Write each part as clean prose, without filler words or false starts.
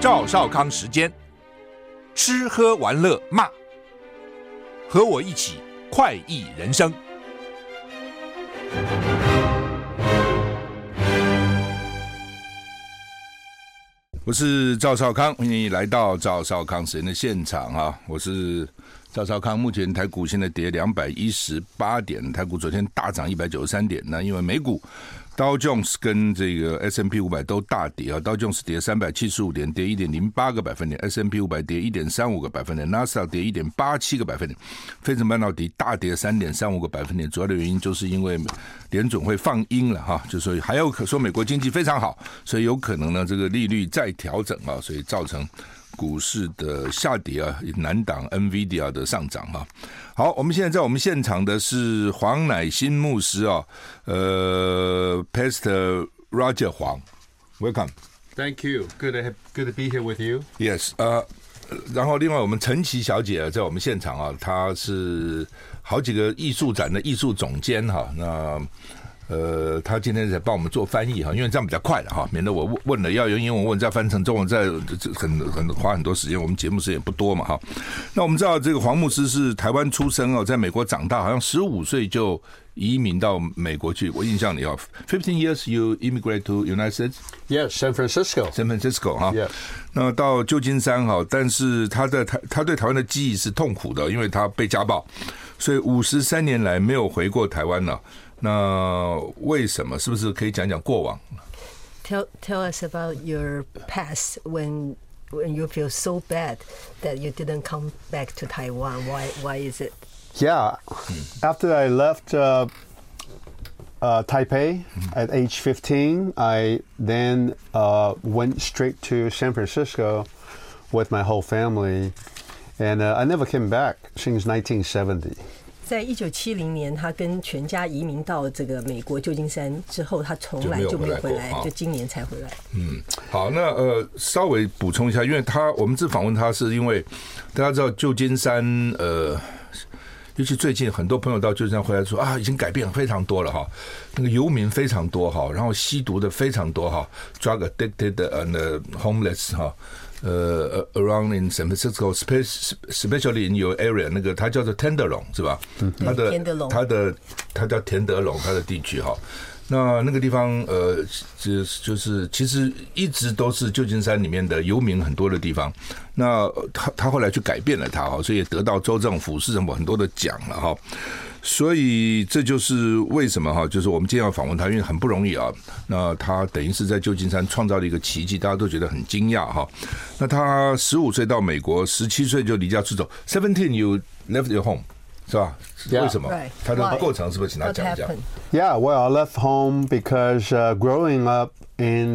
趙少康時間，吃喝玩樂罵，和我一起快意人生。我是趙少康，歡迎你來到趙少康時間的現場啊！我是趙少康。目前台股現在跌218點，台股昨天大漲193點。那因為美股道瓊斯跟這個 S&P 500都大跌啊，道瓊斯跌375點，跌 1.08 個百分點 ，S&P 500跌 1.35 個百分點，納斯達克跌 1.87 個百分點，費城半導體大跌 3.35 個百分點。主要的原因就是因為聯準會放鷹了哈，就說還有說美國經濟非常好，所以有可能呢這個利率再調整啊，所以造成股市的下跌啊，難擋 NVIDIA 的上漲啊。好，我們現在在我們現場的是黃乃馨牧師啊，Pastor Roger 黃 ，Welcome。 Thank you. Good to be here with you. Yes. 然後另外我們陳琦小姐在我們現場啊，她是好幾個藝術展的藝術總監哈，那。他今天在幫我們做翻譯哈，因為这樣比較快了哈，免得我問了要用英文問再翻成中文，再花很多時間，我們節目時間也不多嘛哈。那我們知道這個黃牧師是台灣出生哦，在美國長大，好像15歲就移民到美國去。我印象裡哦，15 years you immigrate to United States? Yes, San Francisco 哈。 Yes. 那到舊金山哈，但是他對台灣的記憶是痛苦的，因為他被家暴，所以53年來沒有回過台灣了。那為什麼？是不是可以講講過往 Tell us about your past when you feel so bad that you didn't come back to Taiwan. Why is it? Yeah, after I left Taipei at age 15, I then went straight to San Francisco with my whole family, and I never came back since 1970. 在1970年，他跟全家移民到这個美國舊金山之後，他從來就沒有回來，就今年才回來。 好，那稍微補充一下，因為我們這訪問他是因為大家知道舊金山尤其最近很多朋友到舊金山回來說啊，已經改變非常多了哈，那個遊民非常多哈，然後吸毒的非常多哈 ，drug addicted and homeless 哈。around in San Francisco, especially in your area， 那個它叫做 Tenderloin 是吧？它叫田德龍，它的地區哈。那個地方就是其實一直都是舊金山裡面的遊民很多的地方。那他後來去改變了它哈，所以也得到州政府、市政府很多的獎了哈。所以這就是為什麼哈，就是我們今天要訪問他，因為很不容易啊。那他等於是在舊金山創造了一個奇蹟，大家都覺得很驚訝哈。那他15歲到美國，17歲就離家出走。17 you left your home， 是吧？ Yeah. 為什麼？他的過程是不是請他講一講 ？Yeah, well, I left home because growing up in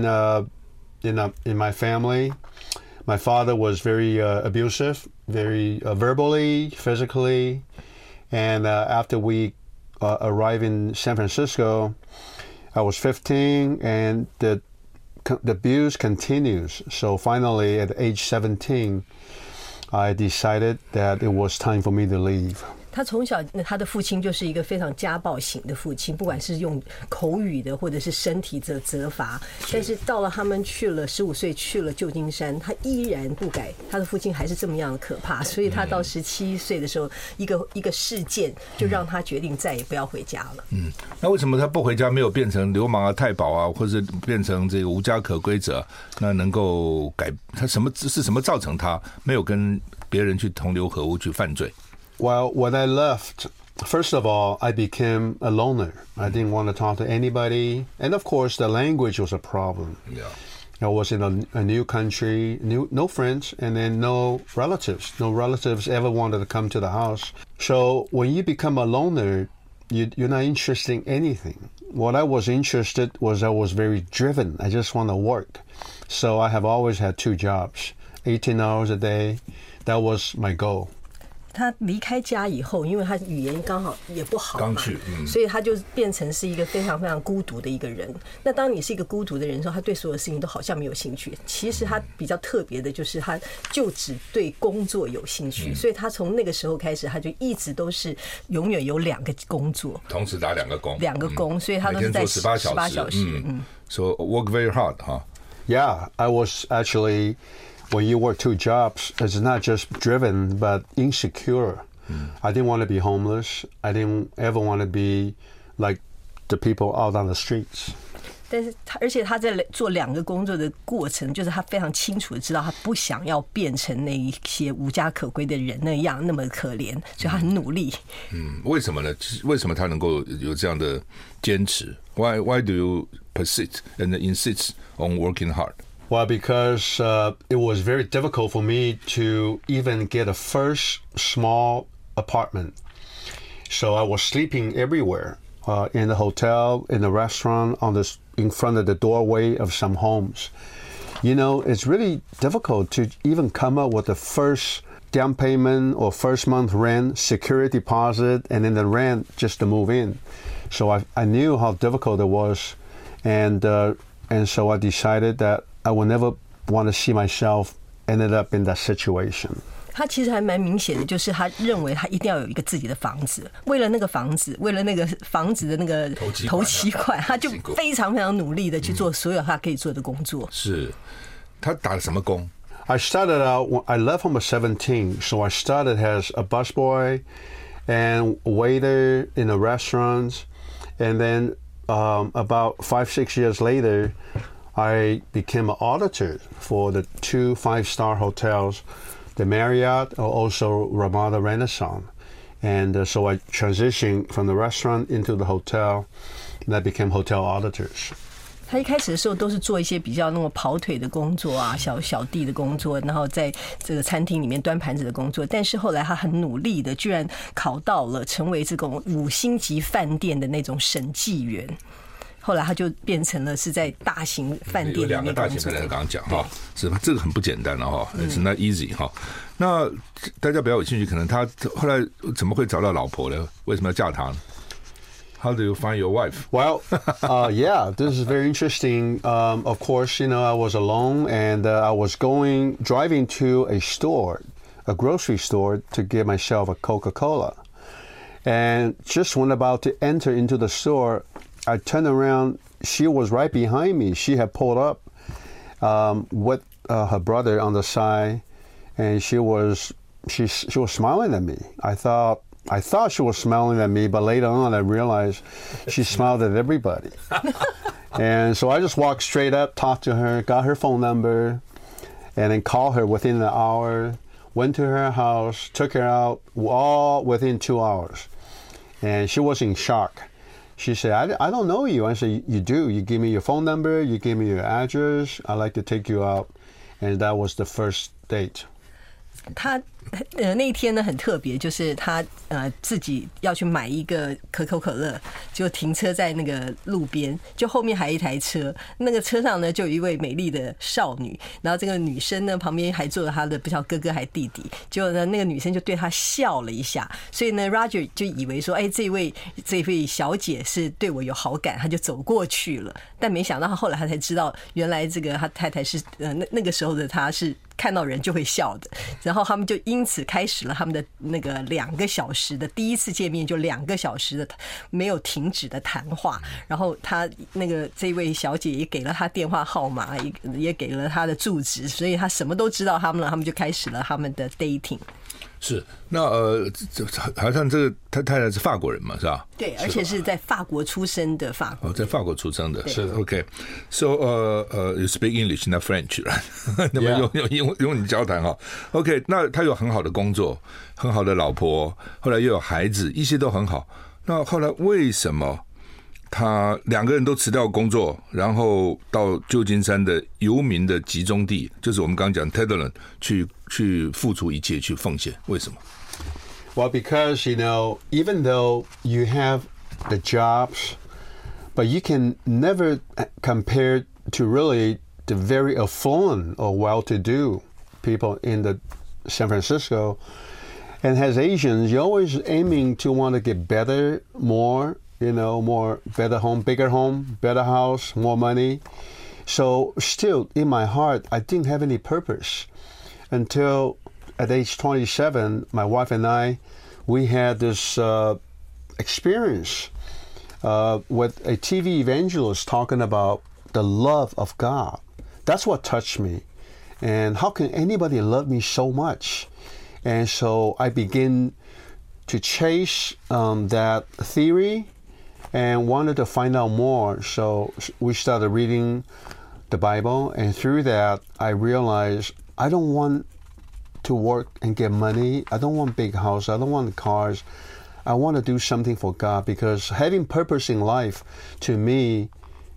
my family, my father was very abusive, very verbally, physically. And after we arrived in San Francisco, I was 15, and the abuse continues. So finally, at age 17, I decided that it was time for me to leave. 他從小他的父親就是一個非常家暴型的父親，不管是用口語的或者是身體的責罰。但是到了他們去了15歲去了舊金山，他依然不改，他的父親還是這麼樣的可怕。所以他到17歲的時候，一個事件就讓他決定再也不要回家了。 那為什麼他不回家，沒有變成流氓啊、太保啊，或者變成這個無家可歸者？那能夠改他什麼造成他沒有跟別人去同流合污去犯罪？ Well, when I left, first of all, I became a loner. I didn't want to talk to anybody. And of course, the language was a problem. Yeah. I was in a new country, no friends, and then no relatives. No relatives ever wanted to come to the house. So when you become a loner, you're not interested in anything. What I was interested was I was very driven. I just want to work. So I have always had 2 jobs, 18 hours a day. That was my goal. 他離開家以後，因為他語言剛好也不好嘛，所以他就變成是一個非常非常孤獨的一個人。那當你是一個孤獨的人的時候，他對所有事情都好像沒有興趣。其實他比較特別的就是他就只對工作有興趣，所以他從那個時候開始，他就一直都是永遠有2個工作，同時打2個工，2個工，所以他都是在18小時。 So work very hard, huh? Yeah, I was actually when you work 2 jobs, it's not just driven, but insecure. I didn't want to be homeless. I didn't ever want to be like the people out on the streets. 但是而且他在做2個工作的過程，就是他非常清楚的知道，他不想要变成那一些無家可歸的人那樣那麼可憐，所以他很努力。 為什麼呢？為什麼他能夠有這樣的堅持 ？Why do you persist and insist on working hard? Well, because it was very difficult for me to even get a first small apartment. So I was sleeping everywhere, in the hotel, in the restaurant, in front of the doorway of some homes. You know, it's really difficult to even come up with the first down payment or first month rent, security deposit, and then the rent just to move in. So I knew how difficult it was, and so I decided that I would never want to see myself ended up in that situation. 他其實還蠻明顯的，就是他認為他一定要有一個自己的房子，為了那個房子，為了那個房子的那個頭期款，他就非常非常努力的去做所有他可以做的工作。 是，他打了什麼工？ I started out, I left home at 17, so I started as a busboy and waiter in the restaurants, and then about 5-6 years later, I became an auditor for the 2 5-star hotels, the Marriott, also Ramada Renaissance. And so I transitioned from the restaurant into the hotel, and I became hotel auditors. 他一開始的時候都是做一些比較那種跑腿的工作啊，小弟的工作，然後在這個餐廳裡面端盤子的工作。但是後來他很努力的，居然考到了成為這種5星級飯店的那種審計員。後來他就變成了是在大型飯店裡面工作。有2個大型飯店，剛剛講哈，是吧？這個很不簡單了哈，It's not easy 哈。 那大家比較有興趣，可能他後來怎麼會找到老婆呢？為什麼要嫁他呢？How do you find your wife? Well, yeah, this is very interesting. Of course, you know, I was alone, and I was driving to a store, a grocery store, to get myself a Coca-Cola. And just when about to enter into the store, I turned around. She was right behind me. She had pulled up with her brother on the side, and she was smiling at me. I thought she was smiling at me, but later on I realized she smiled at everybody. And so I just walked straight up, talked to her, got her phone number, and then called her within an hour, went to her house, took her out, all within 2 hours. And she was in shock. She said, I don't know you. I said, you do. You give me your phone number, you give me your address, I'd like to take you out. And that was the first date. 他那一天呢很特別，就是他自己要去買一個可口可樂，就停車在那個路邊，就後面還有一台車，那個車上呢就有一位美麗的少女，然後這個女生呢旁邊還坐着她的不曉得哥哥還弟弟，結果呢那個女生就對他笑了一下，所以呢 Roger 就以為說，哎，這位小姐是對我有好感，他就走過去了，但沒想到他後來他才知道，原來這個他太太是那個時候的他是看到人就會笑的，然後他們就因此開始了他們的那個2個小時的第一次見面，就2個小時的沒有停止的談話。然後他那個這位小姐也給了他電話號碼，也給了他的住址，所以他什麼都知道他們了。他們就開始了他們的 dating。 是，那好像這個他太太是法國人嘛，是吧？ 對，而且是在法國出生的法國。 在法國出生的，是 OK。So you speak English, not French, right? 那麼用你交談哈。OK， 那他有很好的工作，很好的老婆，後來又有孩子，一切都很好。那後來為什麼他2個人都辭掉工作，然後到舊金山的遊民的集中地，就是我們剛剛講 Tedeland 去付出一切，去奉獻？為什麼？ Well, because, you know, even though you have the jobs, but you can never compare to really the very affluent or well-to-do people in the San Francisco. And as Asians, you're always aiming to want to get better, more, you know, more, better home, bigger home, better house, more money. So still, in my heart, I didn't have any purpose until at age 27, my wife and I, we had this experience with a TV evangelist talking about the love of God. That's what touched me. And how can anybody love me so much? And so I begin to chase that theory and wanted to find out more. So we started reading the Bible, and through that, I realized I don't want to work and get money. I don't want big house. I don't want cars. I want to do something for God, because having purpose in life, to me,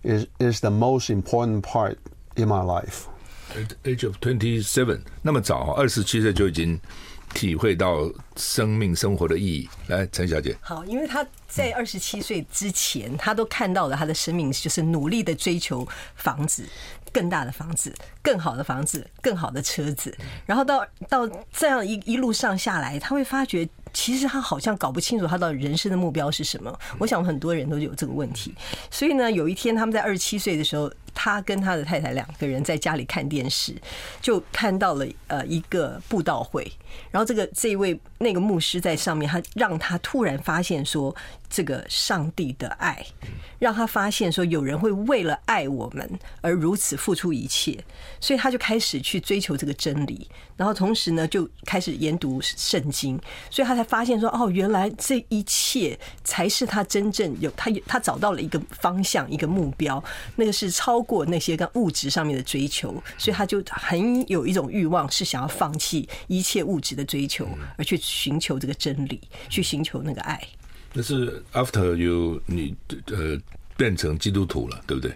is the most important part in my life. At age of 27， 那麼早，27歲就已經體會到生命生活的意義。來，陳小姐。 好，因為他在27歲之前，他都看到了他的生命就是努力的追求房子。更大的房子，更好的房子，更好的車子，然後到這樣一路上下來，他會發覺其實他好像搞不清楚他到底人生的目標是什麼。我想很多人都有這個問題。所以呢，有一天他們在27歲的時候，他跟他的太太2個人在家裡看電視，就看到了一個布道會，然後這一位那個牧師在上面，他讓他突然發現說，這個上帝的愛，讓他發現說有人會為了愛我們而如此付出一切，所以他就開始去追求這個真理，然後同時呢就開始研讀聖經，所以他才發現說，哦，原來這一切才是他真正有他找到了一個方向，一個目標，那個是超過那些跟物質上面的追求，所以他就很有一種慾望，是想要放棄一切物質的追求，而去尋求這個真理，去尋求那個愛。 那是 after 你變成基督徒了，對不對？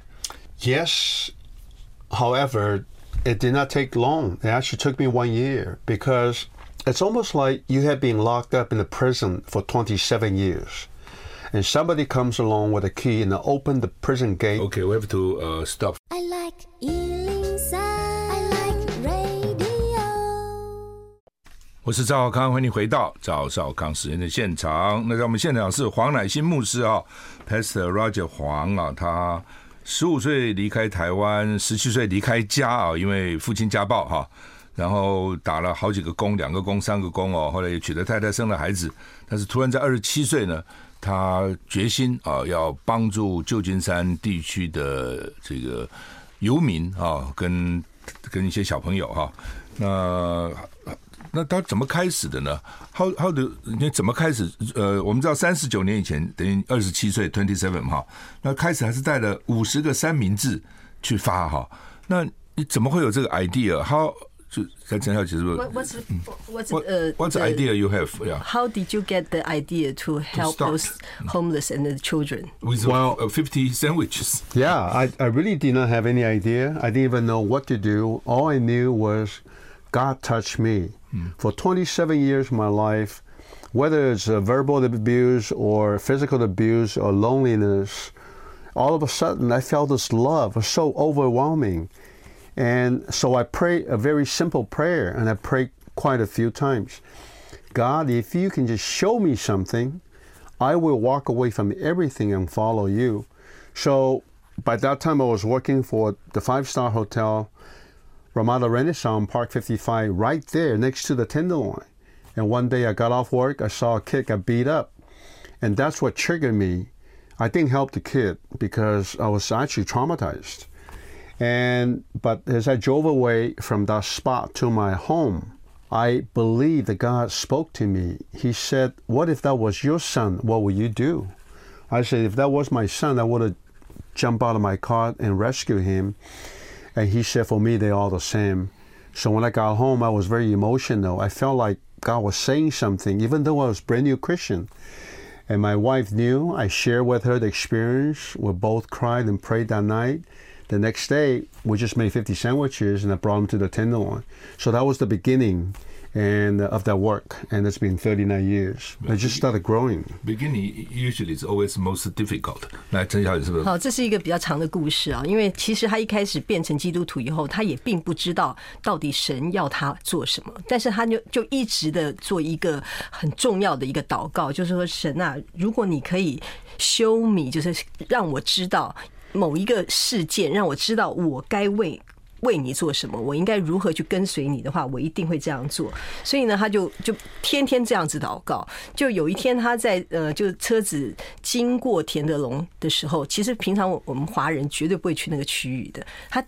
Yes. However, it did not take long. It actually took me 1 year, because it's almost like you have been locked up in a prison for 27 years. And somebody comes along with a key and open the prison gate. Okay, we have to stop. I like 103. I like radio. 我是趙少康，歡迎你回到趙少康時間的現場。那在我們現場是黃乃馨牧師啊 ，Pastor Roger 黃啊，他15歲離開台灣，17歲離開家啊，因為父親家暴哈，然後打了好幾個工，2個工、3個工哦，後來也娶了太太，生了孩子，但是突然在27歲呢，他決心啊，要幫助舊金山地區的這個遊民啊，跟一些小朋友哈，那他怎麼開始的呢？你怎麼開始？我們知道39年以前等於27歲 27哈，那開始還是帶了50個三明治去發哈。那你怎麼會有這個 idea？ 就在陳小姐是不是 ？What's the idea you have? Yeah. How did you get the idea to help those homeless and the children? With 50 sandwiches. Yeah, I really did not have any idea. I didn't even know what to do. All I knew was God touched me. For 27 years of my life, whether it's verbal abuse or physical abuse or loneliness, all of a sudden I felt this love was so overwhelming. And so I prayed a very simple prayer, and I prayed quite a few times. God, if you can just show me something, I will walk away from everything and follow you. So by that time I was working for the 5-star hotel, Ramada Renaissance, Park 55, right there next to the Tenderloin. And one day I got off work, I saw a kid got beat up. And that's what triggered me. I didn't help the kid because I was actually traumatized. But as I drove away from that spot to my home, I believe that God spoke to me. He said, what if that was your son? What would you do? I said, if that was my son, I would have jumped out of my car and rescued him. And he said, for me, they're all the same. So when I got home, I was very emotional. I felt like God was saying something, even though I was a brand new Christian. And my wife knew. I shared with her the experience. We both cried and prayed that night. The next day, we just made 50 sandwiches, and I brought them to the Tenderloin. So that was the beginning of that work, and it's been 39 years. I just started growing. Beginning usually is always most difficult. 來，陳小姐是不是？ 好，這是一個比較長的故事啊。因為其實他一開始變成基督徒以後，他也並不知道到底神要他做什麼，但是他就一直的做一個很重要的一個禱告，就是說神啊，如果你可以 show me， 就是讓我知道某一個事件，讓我知道我該為你做什麼，我應該如何去跟隨你的話，我一定會這樣做。所以呢，他就天天這樣子禱告。就有一天他在就車子經過田德龍的時候，其實平常我們華人絕對不會去那個區域的。他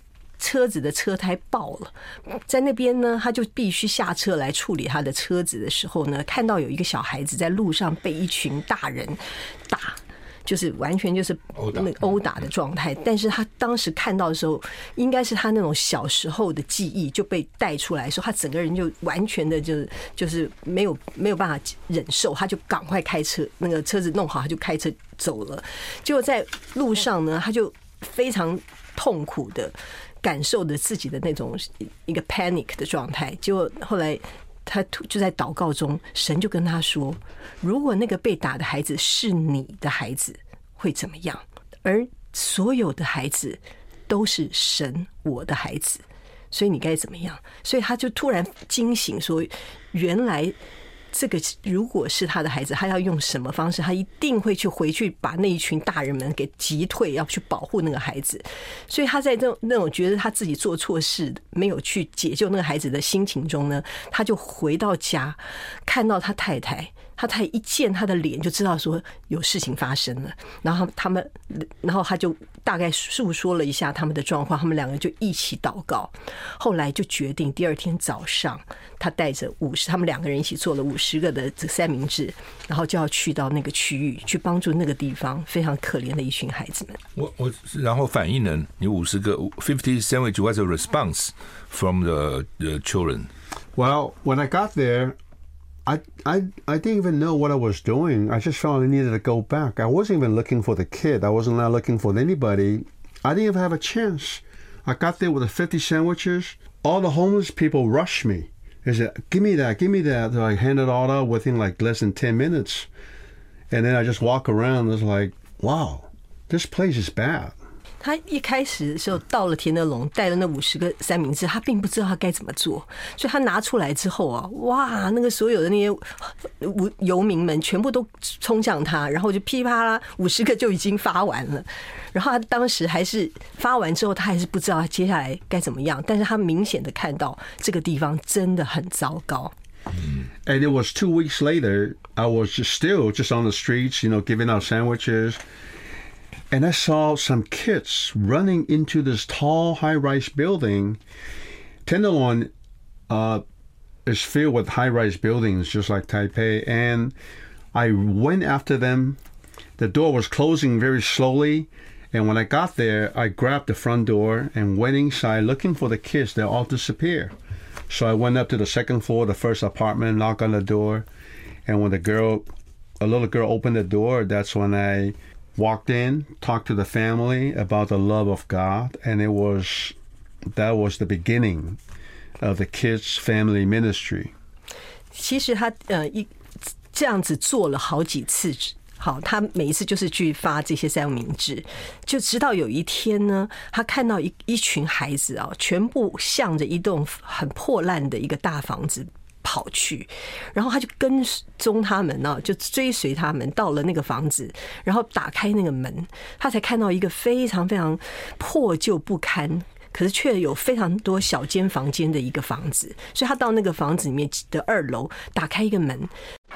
車子的車胎爆了，在那邊呢，他就必須下車來處理他的車子的時候呢，看到有一個小孩子在路上被一群大人打。就是完全就是那個毆打的狀態，但是他當時看到的時候，應該是他那種小時候的記憶就被帶出來，說他整個人就完全的就是沒有辦法忍受，他就趕快開車，那個車子弄好，他就開車走了。結果在路上呢，他就非常痛苦的感受着自己的那種一個 panic 的狀態。結果後來他就在禱告中，神就跟他說，如果那個被打的孩子是你的孩子會怎麼樣？而所有的孩子都是神我的孩子，所以你該怎麼樣？所以他就突然驚醒說，原來這個如果是他的孩子，他要用什麼方式？他一定會回去把那一群大人們給擊退，要去保護那個孩子。所以他在那種覺得他自己做錯事，沒有去解救那個孩子的心情中呢，他就回到家，看到他太太一見他的臉就知道說有事情發生了，然後他就大概訴說了一下他們的狀況，他們兩個就一起禱告，後來就決定第二天早上，他帶着他們兩個人一起做了50個的三明治，然後就要去到那個區域去幫助那個地方非常可憐的一群孩子們。 然後反應呢？你50個50 sandwich was a response from the children. Well, when I got there, I didn't even know what I was doing. I just felt I needed to go back. I wasn't even looking for the kid. I wasn't not looking for anybody. I didn't even have a chance. I got there with the 50 sandwiches. All the homeless people rushed me. They said, give me that, give me that. So I handed it all out within like less than 10 minutes. And then I just walk around. It's like, wow, this place is bad. 他一開始的時候到了田德龍，帶了那50個三明治，他並不知道他該怎麼做，所以他拿出來之後啊，哇，那個所有的那些遊民們全部都衝向他，然後就噼啪啦50個就已經發完了。然後他當時還是發完之後，他還是不知道他接下來該怎麼樣，但是他明顯的看到這個地方真的很糟糕。 And it was 2 weeks later, I was still on the streets, giving out sandwiches. And I saw some kids running into this tall, high-rise building. Tenderloin is filled with high-rise buildings, just like Taipei. And I went after them. The door was closing very slowly. And when I got there, I grabbed the front door and went inside looking for the kids. They all disappeared. So I went up to the second floor, the first apartment, knocked on the door. And when a little girl opened the door, that's when I walked in, talked to the family about the love of God, and that was the beginning of the kids' family ministry. 其實他這樣子做了好幾次，好，他每一次就是去發這些三明治，就直到有一天呢，他看到一群孩子啊，全部向着一棟很破爛的一個大房子跑去，然後他就跟蹤他們呢，就追隨他們到了那個房子，然後打開那個門，他才看到一個非常非常破舊不堪，可是卻有非常多小間房間的一個房子，所以他到那個房子裡面的2樓，打開一個門。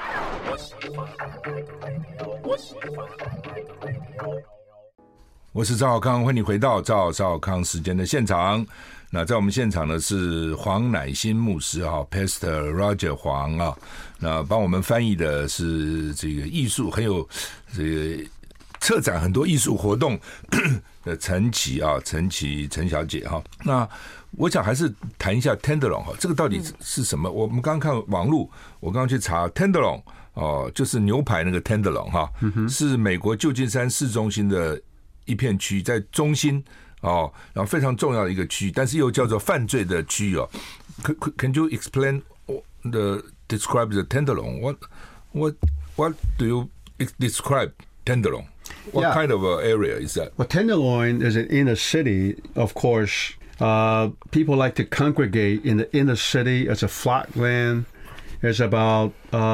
我是趙少康，歡迎你回到趙少康時間的現場。那在我們現場呢是黃乃馨牧師啊 ，Pastor Roger 黃啊，那幫我們翻譯的是這個藝術很有這個策展很多藝術活動的陳琦啊，陳小姐哈。那我想還是談一下 Tenderloin 哈，這個到底是什麼？我們剛剛看網絡，我剛剛去查 Tenderloin 哦，就是牛排那個 Tenderloin 哈，是美國舊金山市中心的一片區，在中心。哦，然後非常重要的一個區域，但是又叫做犯罪的區域哦。Can you explain describe the Tenderloin? What do you describe Tenderloin? What kind of area is that? Well, Tenderloin is an inner city, of course. People like to congregate in the inner city. It's a flat land. There's about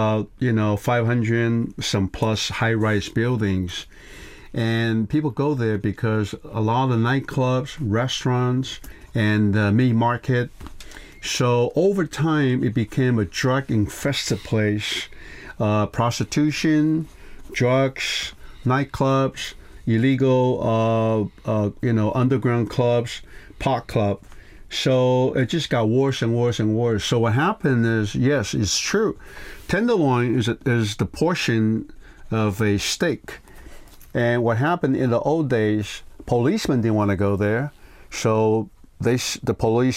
500 some plus high-rise buildings. And people go there because a lot of the nightclubs, restaurants, and the meat market. So over time, it became a drug-infested place. Prostitution, drugs, nightclubs, illegal, underground clubs, pot club. So it just got worse and worse and worse. So what happened is, yes, it's true. Tenderloin is the portion of a steak. And what happened in the old days, policemen didn't want to go there. So the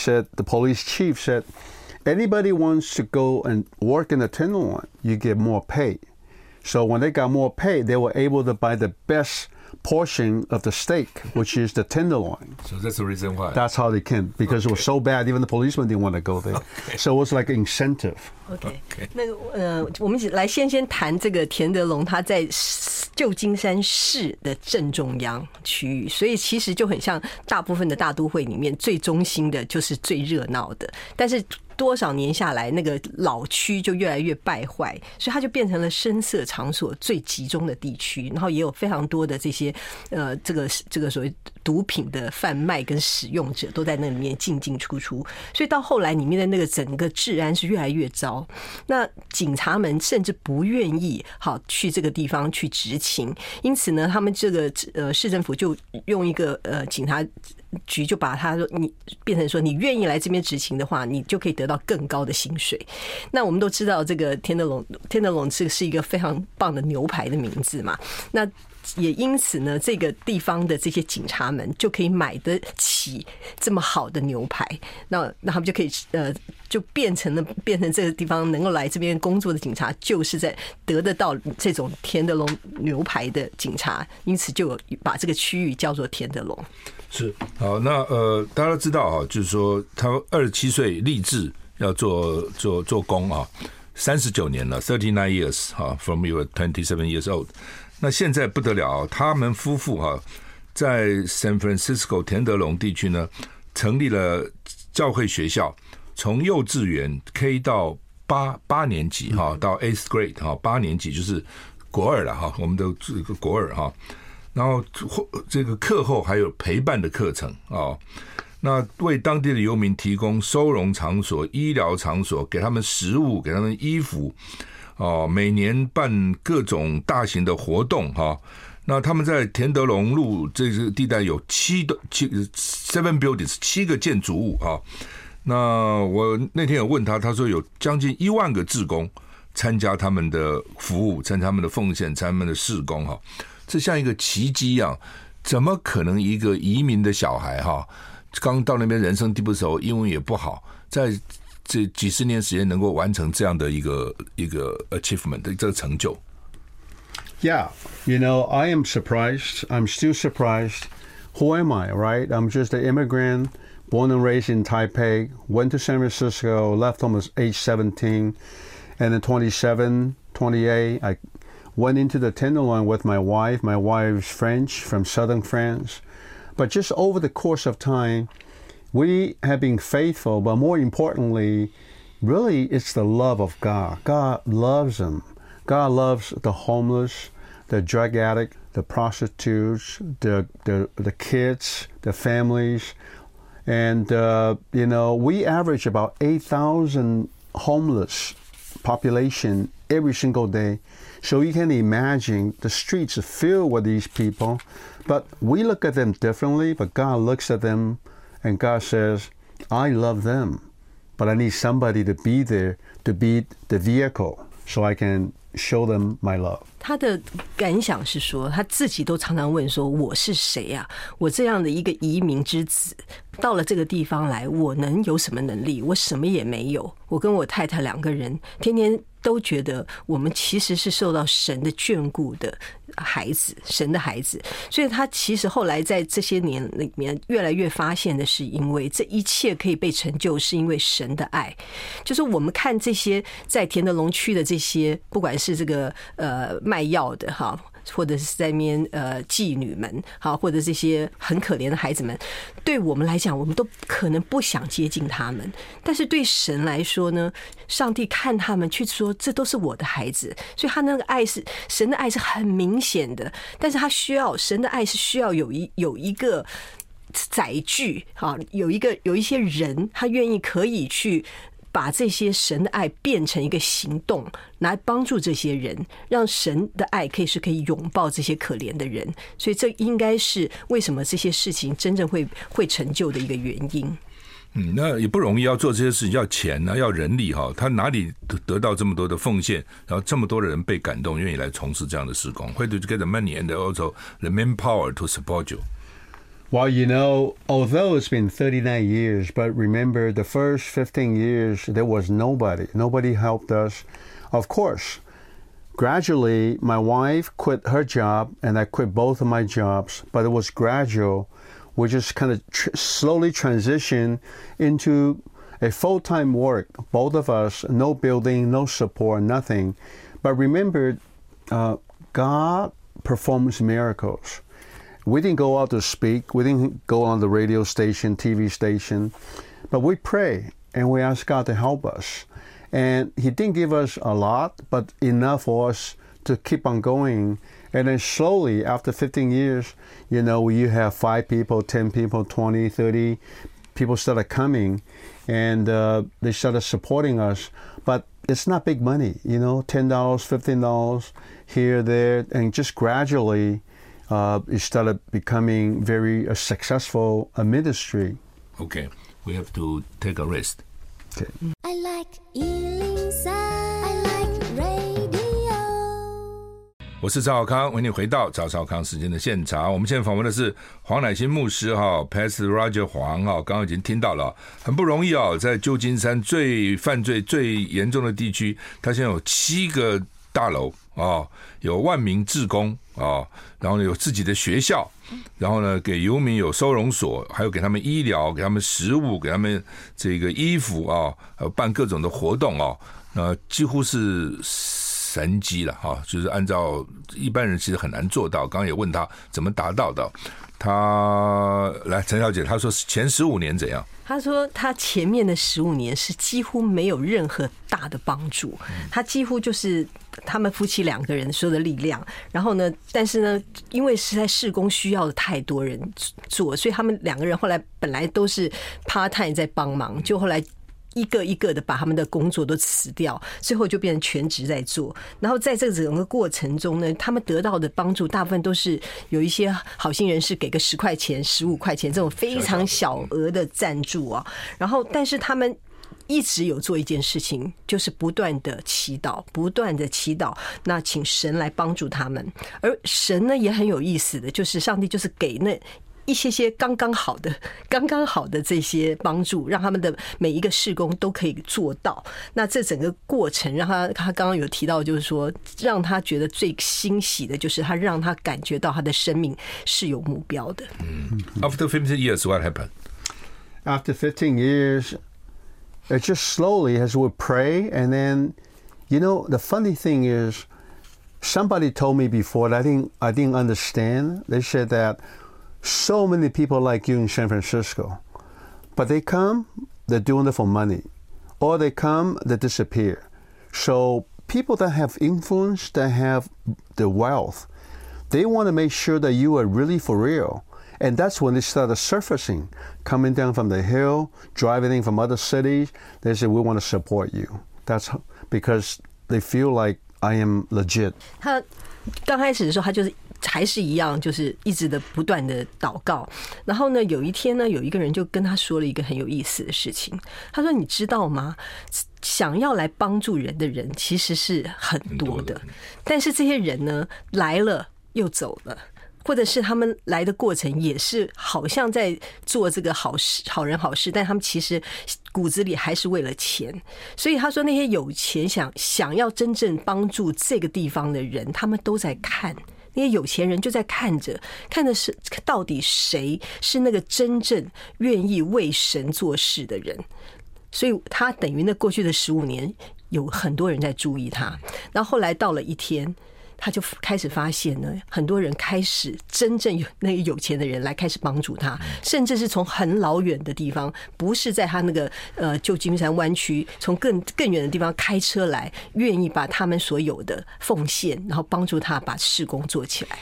police chief said, anybody wants to go and work in the tenderloin, you get more pay. So when they got more pay, they were able to buy the best portion of the steak, which is the tenderloin. So that's the reason why. That's how they came, because it was so bad, even the policemen didn't want to go there. So it was like an incentive. OK， 那個我們來先談這個田德龍，他在舊金山市的正中央區域，所以其實就很像大部分的大都會裡面最中心的，就是最熱鬧的，但是多少年下來，那個老區就越來越敗壞，所以它就變成了聲色場所最集中的地區，然後也有非常多的這些這個所謂毒品的販賣跟使用者都在那裡面進進出出，所以到後來裡面的那個整個治安是越來越糟。那警察們甚至不願意去這個地方去執勤，因此呢，他們這個市政府就用一個警察局就把他說你變成說，你願意來這邊執勤的話，你就可以得到更高的薪水。那我們都知道這個天德龍是一個非常棒的牛排的名字嘛，那也因此呢，這個地方的這些警察們就可以買得起這麼好的牛排，那他們就可以就變成這個地方能夠來這邊工作的警察，就是在得得到這種田德龍牛排的警察，因此就有把這個區域叫做田德龍。 是好，那大家都知道啊，就是說他27歲立志要做工啊，39年了 ，39 years 哈 ，from you 27 years old。那現在不得了，他們夫婦哈，在 San Francisco 田德龍地區呢，成立了教會學校，從幼稚園 K 到八年級哈，到 8th grade 哈，8年級就是國二了哈，我們的這個國二哈。然後這個課後還有陪伴的課程啊，那為當地的遊民提供收容場所、醫療場所，給他們食物，給他們衣服。每年辦各種大型的活動哈。那他們在田德龍路這個地帶有7 buildings 7個建築物哈。那我那天有問他，他說有將近1萬個志工參加他們的服務，參加他們的奉獻，參加他們的事工哈。這像一個奇蹟一樣，怎麼可能一個移民的小孩哈，剛到那邊人生地不熟，英文也不好，在這幾十年時間能夠完成這樣的一個 achievement 的這個成就。 Yeah, I am surprised. I'm still surprised. Who am I, right? I'm just an immigrant, born and raised in Taipei, went to San Francisco, left home at age 17, and then 27, 28, I went into the Tenderloin with my wife. My wife's French, from southern France. But just over the course of time, we have been faithful, but more importantly, really it's the love of God. God loves them. God loves the homeless, the drug addict, the prostitutes, the kids, the families. And, we average about 8,000 homeless population every single day. So you can imagine the streets are filled with these people, but we look at them differently, but God looks at them and God says, I love them, but I need somebody to be there to be the vehicle so I can show them my love. 他的感想是說，他自己都常常問說，我是誰啊？我這樣的一個移民之子，到了這個地方來，我能有什麼能力？我什麼也沒有。我跟我太太2個人，天天都覺得我們其實是受到神的眷顧的孩子，神的孩子。所以他其實後來在這些年裡面，越來越發現的是，因為這一切可以被成就，是因為神的愛。就是我們看這些在田德龍區的這些，不管是這個賣藥的哈，或者是在那邊妓女們哈，或者這些很可憐的孩子們，對我們來講，我們都可能不想接近他們，但是對神來說呢，上帝看他們去說，這都是我的孩子，所以他那個愛是神的愛是很明顯的，但是他需要神的愛是需要有一個載具哈，有一些人他願意可以去把這些神的愛變成一個行動，來幫助這些人，讓神的愛可以擁抱這些可憐的人。所以這應該是為什麼這些事情真正會成就的一個原因。 那也不容易，要做這些事情要錢啊，要人力哈，他哪裡得到這麼多的奉獻，然後這麼多的人被感動，願意來從事這樣的事工？Where did you get the money and also the manpower to support you? Well, you know, although it's been 39 years, but remember the first 15 years, there was nobody. Nobody helped us. Of course, gradually, my wife quit her job, and I quit both of my jobs, but it was gradual. We just kind of slowly transitioned into a full-time work. Both of us, no building, no support, nothing. But remember, God performs miracles. We didn't go out to speak. We didn't go on the radio station, TV station. But we pray, and we ask God to help us. And He didn't give us a lot, but enough for us to keep on going. And then slowly, after 15 years, you know, you have 5 people, 10 people, 20, 30 people started coming, and they started supporting us. But it's not big money, you know, $10, $15 here, there, and just gradually it started becoming very successful ministry. Okay, we have to take a rest. Okay. I like 103. I like radio. 我是赵少康，为你回到赵少康时间的现场。我们现在訪問的是黃乃馨牧師哈 ，Pastor Roger 黃哈，剛剛已經聽到了，很不容易哦，在舊金山犯罪最嚴重的地區，他現在有7個大樓啊，有萬名志工啊，然後呢有自己的學校，然後呢給遊民有收容所，還有給他們醫療，給他們食物，給他們這個衣服啊，辦各種的活動啊，幾乎是神蹟了哈，就是按照一般人其實很難做到。剛剛也問他怎麼達到的，他來陳小姐，她說前15年怎樣？ 他說他前面的15年是幾乎沒有任何大的幫助，他幾乎就是他們夫妻2個人所有的力量，然後呢，但是呢，因為實在事工需要的太多人做，所以他們2個人後來本來都是 part time 在幫忙，就後來一個一個的把他們的工作都辭掉，最後就變成全職在做。然後在這整個過程中呢，他們得到的幫助大部分都是有一些好心人士給個10塊錢、15塊錢這種非常小額的贊助啊。然後，但是他們一直有做一件事情，就是不斷的祈禱，不斷的祈禱，那請神來幫助他們。而神呢也很有意思的，就是上帝就是給那一些剛剛好的這些幫助，讓他們的每一個事工都可以做到。那這整個過程讓他剛剛有提到，就是說讓他覺得最欣喜的就是他讓他感覺到他的生命是有目標的。 After 15 years, what happened? After 15 years, it just slowly as we pray, and then, you know, the funny thing is, somebody told me before that I didn't understand. They said that so many people like you in San Francisco, but they come, they're doing it for money, or they come, they disappear. So people that have influence, that have the wealth, they want to make sure that you are really for real. And that's when they started surfacing, coming down from the hill, driving in from other cities. They say, we want to support you. That's because they feel like I am legit. 他剛開始的時候，他就是還是一樣，就是一直的不斷的禱告。然後呢，有一天呢，有一個人就跟他說了一個很有意思的事情。他說：“你知道嗎？想要來幫助人的人其實是很多的，但是這些人呢，來了又走了。”或者是他們來的過程也是好像在做這個好事、好人好事，但他們其實骨子裡還是為了錢。所以他說，那些有錢想要真正幫助這個地方的人，他們都在看。那些有錢人就在看着是到底誰是那個真正願意為神做事的人。所以他等於那過去的15年有很多人在注意他。然後後來到了一天，他就開始發現呢，很多人開始真正有那個有錢的人來開始幫助他，甚至是從很老遠的地方，不是在他那個舊金山灣區，從更遠的地方開車來，願意把他們所有的奉獻，然後幫助他把事工做起來。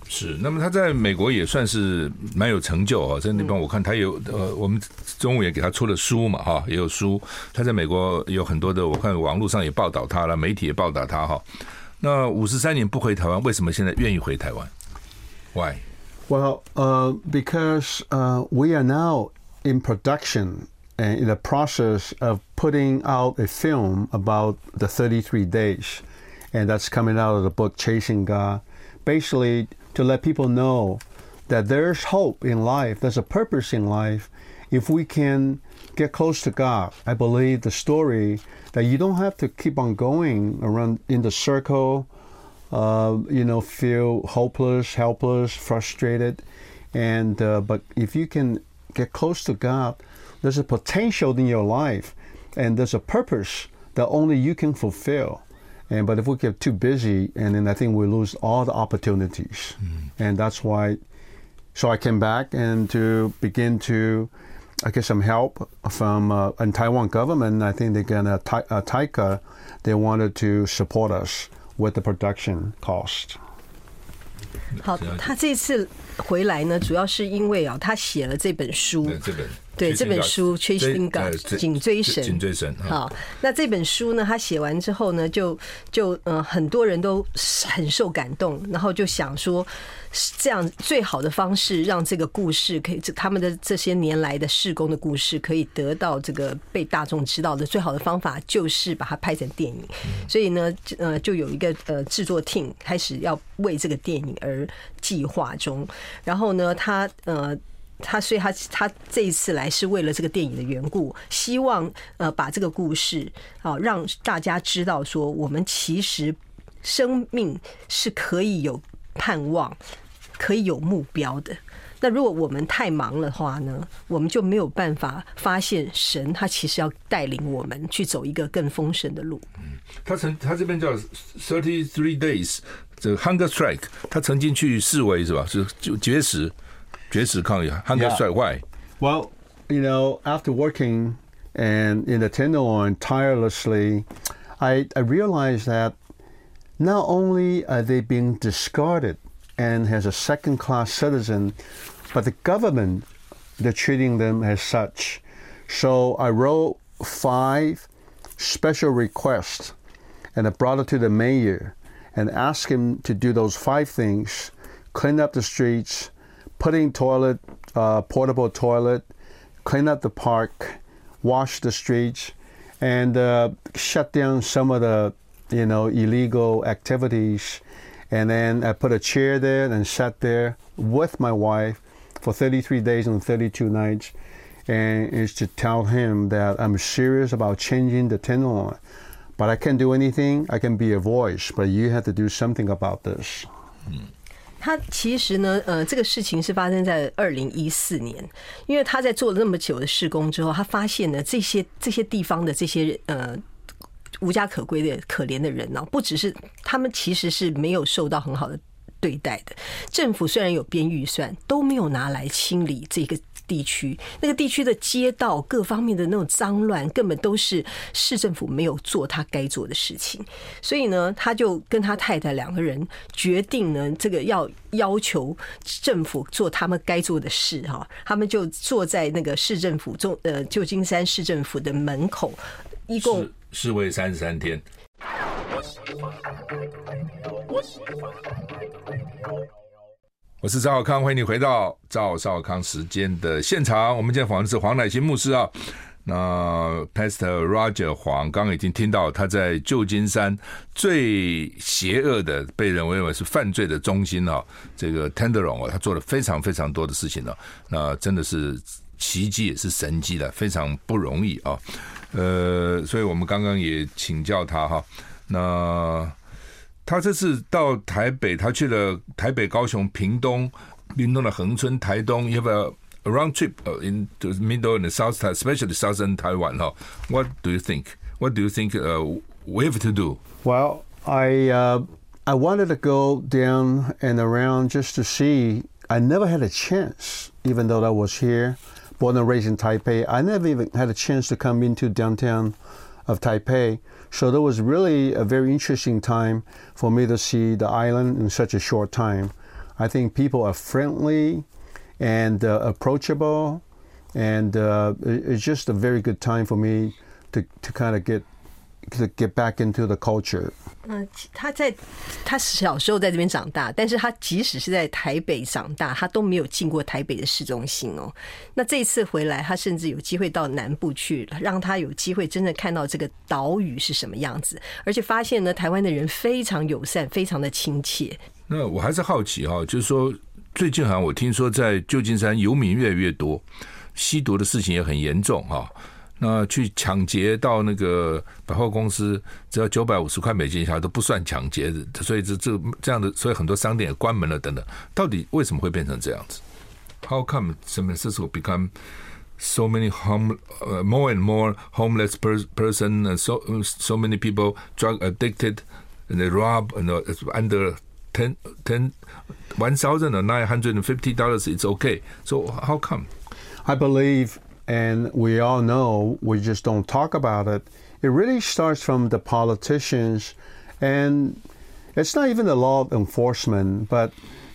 是，那麼他在美國也算是蠻有成就啊，在那邊我看他有我們中午也給他出了書嘛哈，也有書。他在美國有很多的，我看網絡上也報道他了，媒體也報道他哈。那53年不回台灣，為什麼現在願意回台灣 ？Why? Well, because we are now in production and in the process of putting out a film about the 33 days, and that's coming out of the book Chasing God. Basically, to let people know that there's hope in life, there's a purpose in life, if we can get close to God. I believe the story that you don't have to keep on going around in the circle, feel hopeless, helpless, frustrated, and but if you can get close to God, there's a potential in your life, and there's a purpose that only you can fulfill. But if we get too busy, and then I think we lose all the opportunities. And that's why, so I came back and to begin to get some help from and Taiwan government. I think they're gonna TICA, they wanted to support us with the production cost. 好，他这次回来呢，主要是因為他寫了這本書。對，這本書《Chasing God》緊追神。好，那這本書呢，他寫完之後呢，就很多人都很受感動，然後就想說，這樣最好的方式讓這個故事可以，他們的這些年來的事工的故事可以得到這個被大眾知道的最好的方法，就是把它拍成電影。所以呢，就有一個製作 team 開始要為這個電影而計劃中。然後呢，所以他這一次來是為了這個電影的緣故，希望把這個故事讓大家知道說，我們其實生命是可以有盼望，可以有目標的。那如果我們太忙的話呢，我們就沒有辦法發現神他其實要帶領我們去走一個更豐盛的路。 他這邊叫33 days 這個 hunger strike， 他曾經去示威是吧？是絕食抗議 hunger strike. Why? Well, after working and in the Tenderloin tirelessly, I realized that not only are they being discarded and as a second-class citizen, but the government, they're treating them as such. So I wrote 5 special requests, and I brought it to the mayor and asked him to do those 5 things: clean up the streets, putting portable toilet, clean up the park, wash the streets, and shut down some of the, illegal activities. And then I put a chair there and sat there with my wife for 33 days and 32 nights. And it's to tell him that I'm serious about changing the Tenderloin. But I can't do anything. I can be a voice, but you have to do something about this. 他其實呢，這個事情是發生在2014年，因為他在做了那麼久的事工之後，他發現呢，這些地方的這些無家可歸的可憐的人呢，不只是他們其實是沒有受到很好的對待的。政府雖然有編預算，都沒有拿來清理這個地區，那個地區的街道各方面的那種髒亂，根本都是市政府沒有做他該做的事情。所以呢，他就跟他太太2個人決定呢，這個要求政府做他們該做的事哈。他們就坐在那個市政府舊金山市政府的門口，一共示威33天。我是趙少康，歡迎你回到趙少康時間的現場。我們今天訪問的是黃乃馨牧師啊。那 Pastor Roger 黃剛剛已經聽到他在舊金山最邪惡的被人認為是犯罪的中心啊，這個 Tenderloin 啊，他做了非常非常多的事情啊，那真的是奇蹟也是神蹟的，非常不容易啊。所以我們剛剛也請教他哈，那他這次到台北，他去了台北、高雄、屏東的恆春、台東 ，you have a round trip in the middle and the south, especially southern Taiwan. What do you think? What do you think we have to do? Well, I wanted to go down and around just to see. I never had a chance, even though I was here, born and raised in Taipei. I never even had a chance to come into downtown of Taipei. So that was really a very interesting time for me to see the island in such a short time. I think people are friendly and approachable, and it's just a very good time for me to kind of get back into the culture. 他小时候在這邊長大，但是他即使是在台北長大，他都沒有進過台北的市中心哦。那這一次回來，他甚至有機會到南部去，讓他有機會真正看到這個島嶼是什麼樣子，而且發現呢，台灣的人非常友善，非常的親切。那我還是好奇哈，就是說最近好像我聽說在舊金山遊民越來越多，吸毒的事情也很嚴重哈。那去搶劫到那個百貨公司，只要$950一下都不算搶劫的，所以這樣的，所以很多商店也關門了等等。到底為什麼會變成這樣子 ？How come San Francisco become so many more and more homeless person, and so many people drug addicted, and they rob, and under $1,950 it's okay. So how come? I believe. And we all know, we just don't talk about it. It really starts from the politicians, and it's not even the law enforcement, but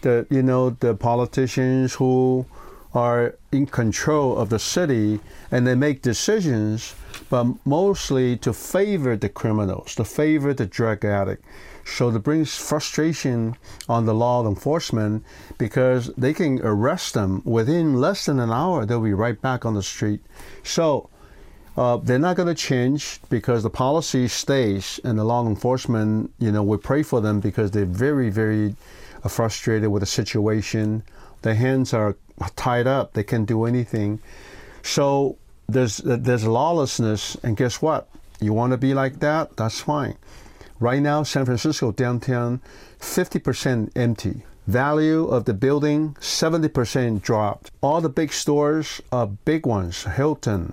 the politicians who are in control of the city, and they make decisions, but mostly to favor the criminals, to favor the drug addict. So that brings frustration on the law enforcement, because they can arrest them within less than an hour. They'll be right back on the street. So they're not going to change because the policy stays, and the law enforcement, we pray for them because they're very, very frustrated with the situation. Their hands are tied up. They can't do anything. So there's lawlessness, and guess what? You want to be like that? That's fine. Right now, San Francisco downtown, 50% empty. Value of the building, 70% dropped. All the big stores are big ones. Hilton,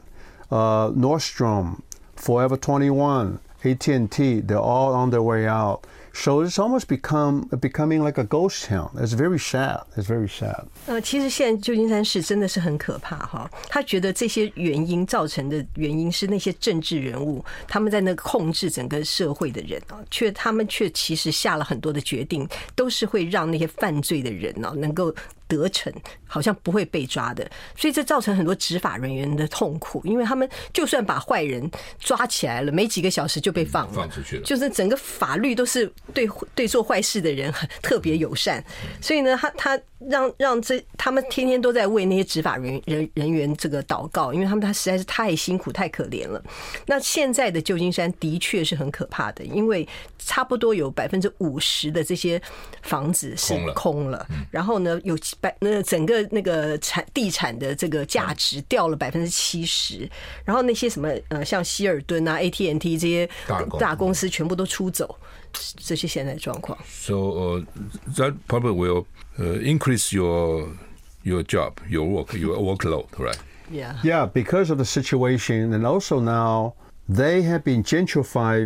Nordstrom, Forever 21, AT&T, they're all on their way out. So it's almost becoming like a ghost town. It's very sad. It's very sad. 其實現在舊金山市真的是很可怕哈。他覺得這些原因造成的原因是那些政治人物他們在那個控制整個社會的人啊，他們卻其實下了很多的決定，都是會讓那些犯罪的人啊能夠得逞，好像不會被抓的，所以這造成很多執法人員的痛苦，因為他們就算把壞人抓起來了，沒幾個小時就被放出去了，就是整個法律都是對做壞事的人特別友善，所以呢，他讓他們天天都在為那些執法人員這個禱告，因為他實在是太辛苦太可憐了。那現在的舊金山的確是很可怕的，因為差不多有50%的這些房子是空了，然後呢有整個那個地產的這個價值掉了70%，然後那些什麼像希爾頓啊、AT&T 這些大公司全部都出走，這些現在的狀況。 So that probably will increase your job, your workload, right? Yeah, because of the situation, and also now they have been gentrified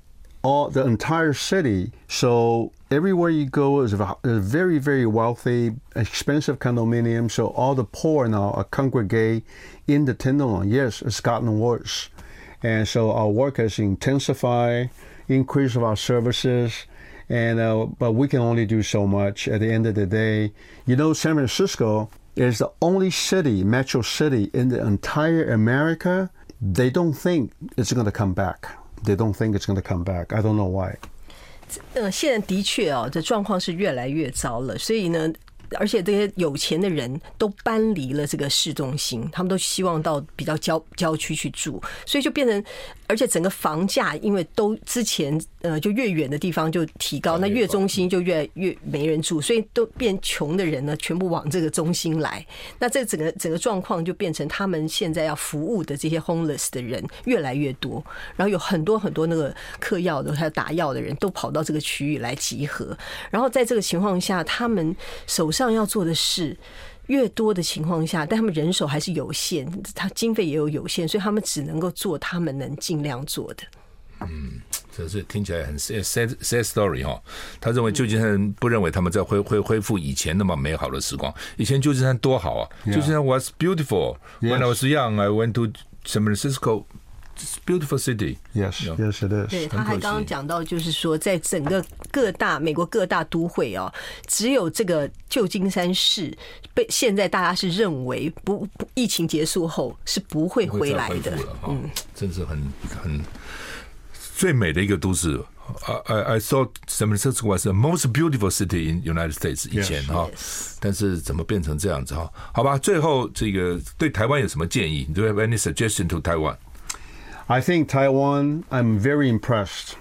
the entire city. So everywhere you go is a very, very wealthy, expensive condominium. So all the poor now are congregate in the Tenderloin. Yes, it's gotten worse. And so our work has intensified, increase of our services. And but we can only do so much at the end of the day. San Francisco is the only city, metro city in the entire America. They don't think it's going to come back. They don't think it's going to come back. I don't know why. 現在的確哦，這狀況是越來越糟了，所以呢，而且這些有錢的人都搬離了這個市中心，他們都希望到比較郊區去住，所以就變成，而且整個房價因為都之前就越遠的地方就提高，那越中心就越沒人住，所以都變窮的人呢全部往這個中心來，那這整個狀況就變成他們現在要服務的這些 homeless 的人越來越多，然後有很多很多那個嗑藥的還有打藥的人都跑到這個區域來集合，然後在這個情況下，他們手上要做的事越多的情況下，但他們人手還是有限，他經費也有限，所以他們只能夠做他們能盡量做的。 這是聽起來很 sad story 哈。他認為舊金山不認為他們在恢復以前那麼美好的時光。以前舊金山多好啊！舊金山 was beautiful. When I was young, I went to San Francisco beautiful city. Yes, yes, it is. 对，他还刚刚講到，就是說，在整個美國各大都會哦，只有這個舊金山市現在大家是認為疫情結束後是不會回來的。 真是很最美的一個都市。I thought San Francisco was the most beautiful city in United States 以前哈，但是怎麼變成這樣子哈？好吧，最後這個對台灣有什麼建議 ？Do you have any suggestion to Taiwan? I think Taiwan, I'm very impressed.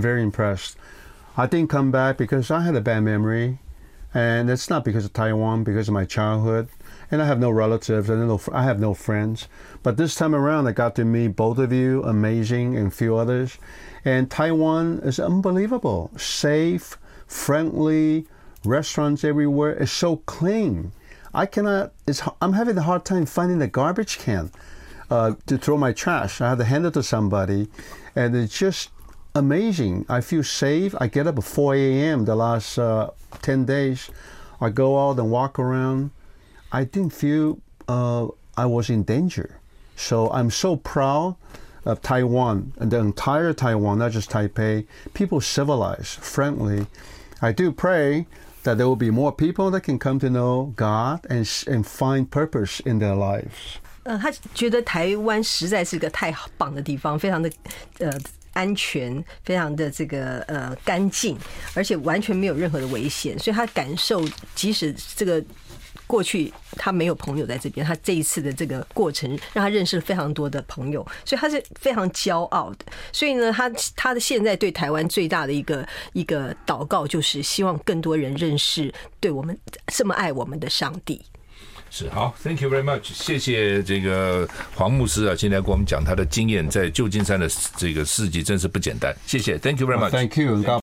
I didn't come back because I had a bad memory, and it's not because of Taiwan, because of my childhood. And I have no relatives, I have no friends. But this time around, I got to meet both of you, amazing, and a few others. And Taiwan is unbelievable. Safe, friendly, restaurants everywhere. It's so clean. I'm having a hard time finding a garbage can to throw my trash. I have to hand it to somebody. And it's just amazing. I feel safe. I get up at 4 a.m. the last 10 days. I go out and walk around. I didn't feel I was in danger. So I'm so proud of Taiwan and the entire Taiwan, not just Taipei. People civilized, friendly. I do pray that there will be more people that can come to know God and find purpose in their lives. 他覺得台灣實在是個太棒的地方，非常的安全，非常的这個乾淨，而且完全沒有任何的危險，所以他感受即使這個。過去他沒有朋友在這邊，他這一次的這個過程讓他認識了非常多的朋友，所以他是非常驕傲的。所以呢，他的現在對台灣最大的一個禱告就是希望更多人認識對我們這麼愛我們的上帝。 是好 ，Thank you very much， 謝謝這個黃牧師啊，今天跟我們講他的經驗，在舊金山的這個事蹟真是不簡單，謝謝 ，Thank you very much， Thank you。